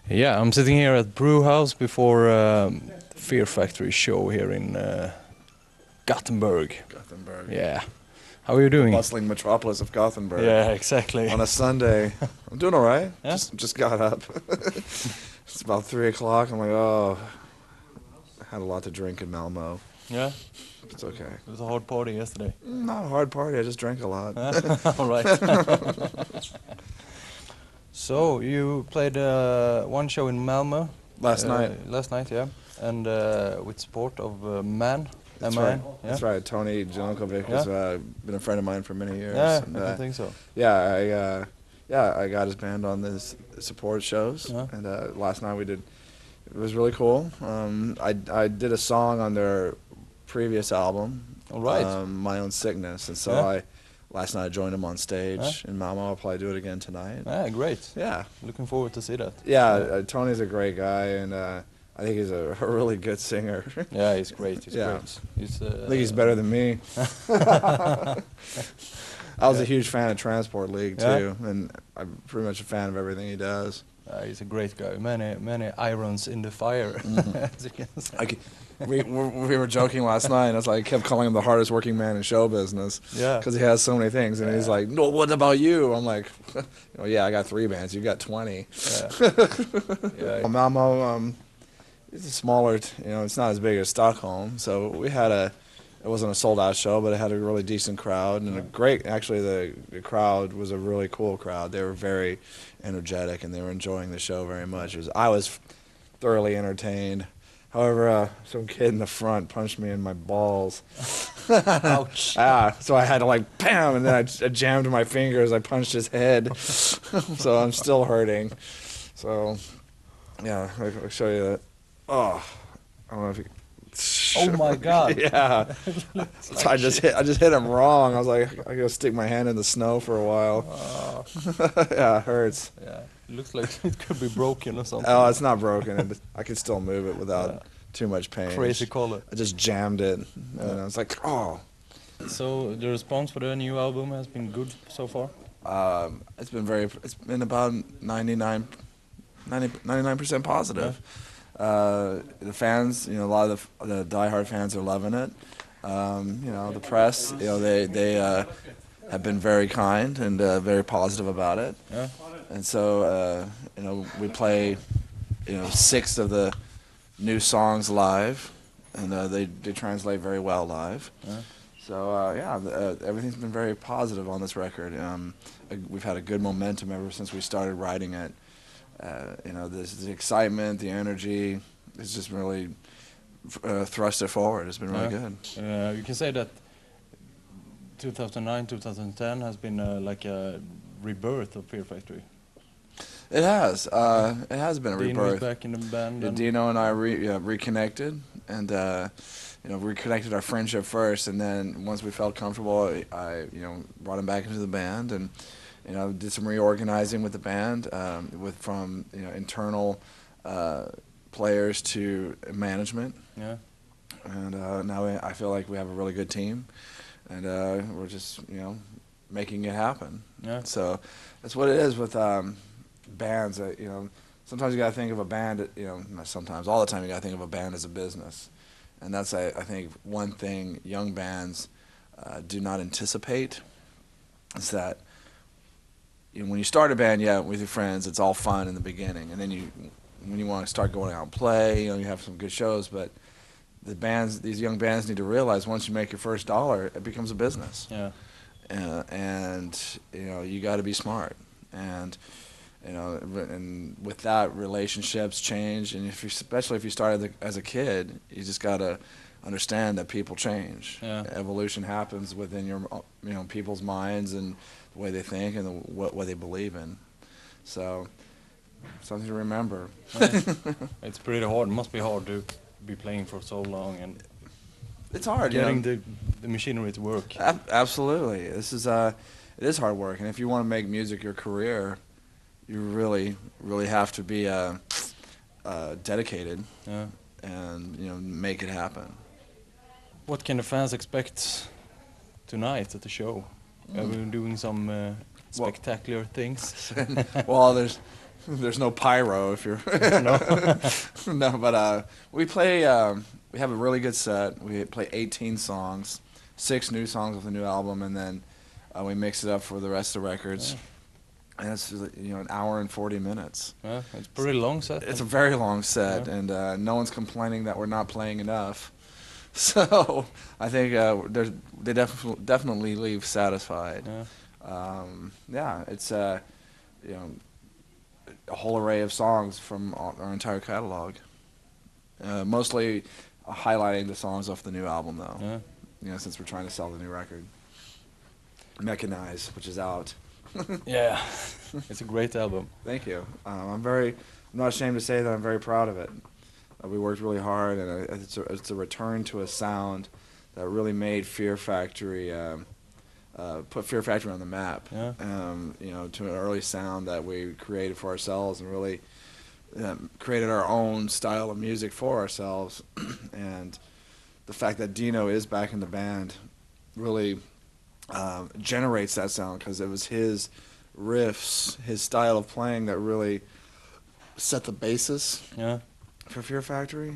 Yeah, I'm sitting here at Brew House before Fear Factory show here in Gothenburg. Gothenburg. Yeah. How are you doing? Bustling metropolis of Gothenburg. Yeah, exactly. On a Sunday. I'm doing all right. Yeah? Just got up. It's about 3 o'clock. I'm like, oh, I had a lot to drink in Malmo. Yeah, It's okay. it was a hard party yesterday. Not a hard party. I just drank a lot. All right. So you played one show in Malmö Last night. Last night, yeah, and with support of Man. That's Man. right. Yeah? That's right. Tony Jankovic has been a friend of mine for many years. Yeah, and, I think so. Yeah, I got his band on this support shows, Yeah. and last night we did. It was really cool. I did a song on their previous album, All right. My Own Sickness, and so Yeah. last night I joined him on stage in Malmo. I'll probably do it again tonight. Yeah, great. Yeah, Looking forward to see that. yeah. Tony's a great guy, and I think he's a really good singer. Yeah, he's great. He's Yeah. great. He's, I think he's better than me. I was a huge fan of Transport League Yeah. too, and I'm pretty much a fan of everything he does. He's a great guy. Many irons in the fire. As you can say. We were joking last night, and I was like, I kept calling him the hardest working man in show business. Yeah. Because he has so many things, and he's like, no, what about you? I'm like, yeah, I got 3 bands. You got 20. Yeah. Yeah. Malmo, it's a smaller, it's not as big as Stockholm, so we had it wasn't a sold out show, but it had a really decent crowd, and actually the crowd was a really cool crowd. They were very energetic, and they were enjoying the show very much. I was thoroughly entertained. However, some kid in the front punched me in my balls. Ouch. So I had to bam, and then I jammed my fingers. I punched his head, so I'm still hurting. So, yeah, I'll show you that. Oh, I don't know if you. Oh my God. Yeah. So I just hit him wrong. I was like, I gotta stick my hand in the snow for a while. Yeah, it hurts. Yeah. It looks like it could be broken or something. Oh, it's not broken. I can still move it without too much pain. Crazy color. I just jammed it, and I was like, oh. So the response for the new album has been good so far? It's been about 99% positive. The fans, a lot of the diehard fans are loving it. The press, they have been very kind and very positive about it. Yeah. And so, we play, 6 of the new songs live, and they translate very well live. Yeah. So, everything's been very positive on this record. We've had a good momentum ever since we started writing it. The excitement, the energy, it's just really thrust it forward. It's been really good. You can say that 2009, 2010 has been like a rebirth of Fear Factory. It has. It has been a Dino rebirth. is back in the band. Yeah, and Dino and I reconnected, and reconnected our friendship first, and then once we felt comfortable, I brought him back into the band, and did some reorganizing with the band, from internal players to management. Yeah. And now I feel like we have a really good team, and we're just making it happen. Yeah. So that's what it is with bands. Sometimes you gotta think of a band. Not sometimes, all the time you gotta think of a band as a business, and that's I think one thing young bands do not anticipate is that. When you start a band, with your friends, it's all fun in the beginning, and then when you want to start going out and play, you have some good shows. But these young bands need to realize once you make your first dollar, it becomes a business. Yeah. And you got to be smart, and with that, relationships change, and especially if you started as a kid, you just got to understand that people change. Yeah. Evolution happens within your people's minds and the way they think and what they believe in. So something to remember. It's pretty hard. It must be hard to be playing for so long and it's hard getting the machinery to work. Absolutely. This is it is hard work, and if you want to make music your career, you really have to be dedicated. Yeah. And make it happen. What can the fans expect tonight at the show? Are we doing some spectacular things? Well, there's There's no pyro if you're No. no, but we play. We have a really good set. We play 18 songs, 6 new songs of the new album, and then we mix it up for the rest of the records. Yeah. And it's an hour and 40 minutes. Yeah, it's pretty long set. It's a very long set, Yeah. and no one's complaining that we're not playing enough. So I think they definitely leave satisfied. Yeah. Yeah, it's a whole array of songs from our entire catalog. Mostly highlighting the songs off the new album, though. Yeah. Since we're trying to sell the new record, Mechanize, which is out. Yeah. It's a great album. Thank you. I'm not ashamed to say that I'm very proud of it. We worked really hard, and it's a return to a sound that really made Fear Factory, put Fear Factory on the map. Yeah. To an early sound that we created for ourselves, and really created our own style of music for ourselves. And the fact that Dino is back in the band really generates that sound, because it was his riffs, his style of playing that really set the basis. Yeah. For Fear Factory.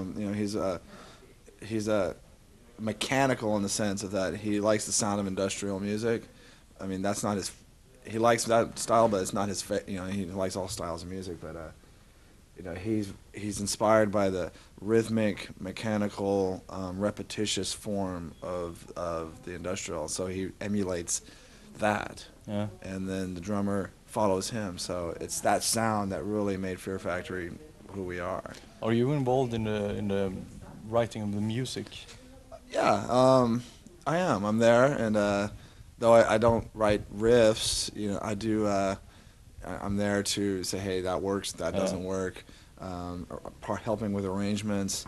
He's a mechanical in the sense of that he likes the sound of industrial music. I mean, that's not his. He likes that style, but it's not his. He likes all styles of music, but he's inspired by the rhythmic, mechanical, repetitious form of the industrial. So he emulates that. Yeah. And then the drummer follows him. So it's that sound that really made Fear Factory who we are. Are you involved in the writing of the music? Yeah, I am. I'm there, and though I don't write riffs, I do. I'm there to say, hey, that works, that doesn't work. Helping with arrangements.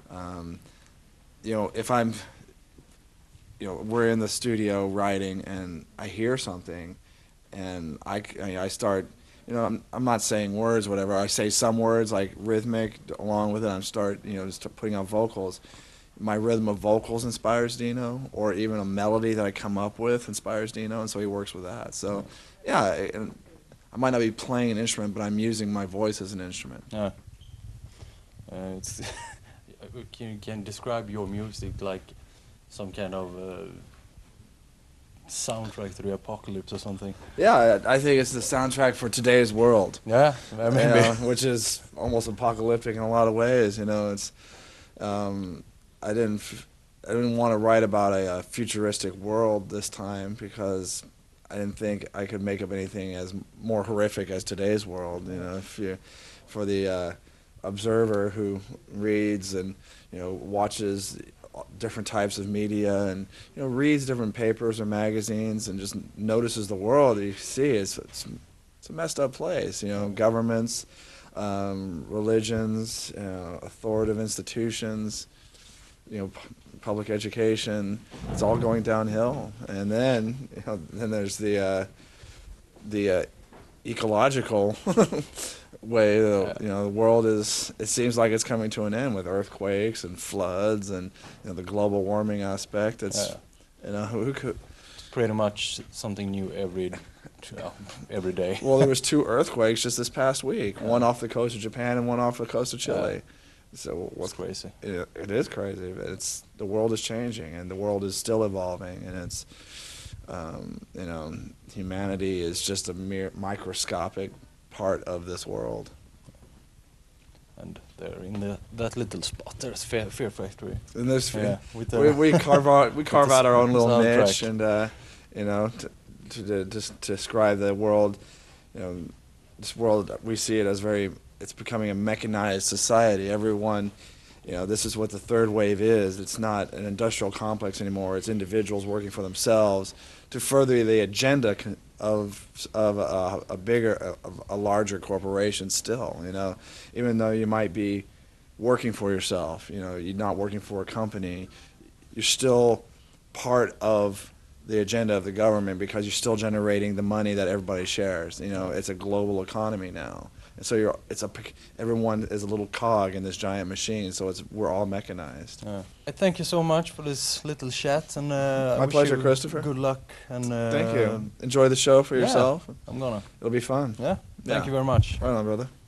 If I'm, we're in the studio writing, and I hear something, and I start. I'm not saying words, whatever. I say some words like rhythmic along with it. I start putting out vocals. My rhythm of vocals inspires Dino, or even a melody that I come up with inspires Dino, and so he works with that. So, yeah, I might not be playing an instrument, but I'm using my voice as an instrument. Yeah. It's can you describe your music like some kind of soundtrack to the apocalypse or something? Yeah, I think it's the soundtrack for today's world. Yeah, maybe. Which is almost apocalyptic in a lot of ways. It's I didn't want to write about a futuristic world this time, because I didn't think I could make up anything as more horrific as today's world. For the observer who reads and watches different types of media, and reads different papers or magazines, and just notices the world, you see it's a messed up place. Governments, religions, authoritative institutions, public education, it's all going downhill. And then then there's the ecological way. The world it seems like it's coming to an end with earthquakes and floods, and the global warming aspect. It's who could. It's pretty much something new every day. Well, there was 2 earthquakes just this past week. One off the coast of Japan and one off the coast of Chile. So what's crazy? It is crazy, but the world is changing, and the world is still evolving, and it's humanity is just a mere microscopic part of this world. And there in that little spot, there's Fear Factory. And there's we carve out our own little soundtrack. niche, and to describe the world. This world, we see it as it's becoming a mechanized society. Everyone, this is what the third wave is. It's not an industrial complex anymore. It's individuals working for themselves to further the agenda of a larger corporation still. Even though you might be working for yourself, you're not working for a company, you're still part of the agenda of the government, because you're still generating the money that everybody shares. It's a global economy now. And so everyone is a little cog in this giant machine, so we're all mechanized. I thank you so much for this little chat, and My pleasure, Christopher. Good luck, and thank you. Enjoy the show for yourself. I'm gonna. It'll be fun. Yeah. Thank Yeah. you very much. Right on, brother.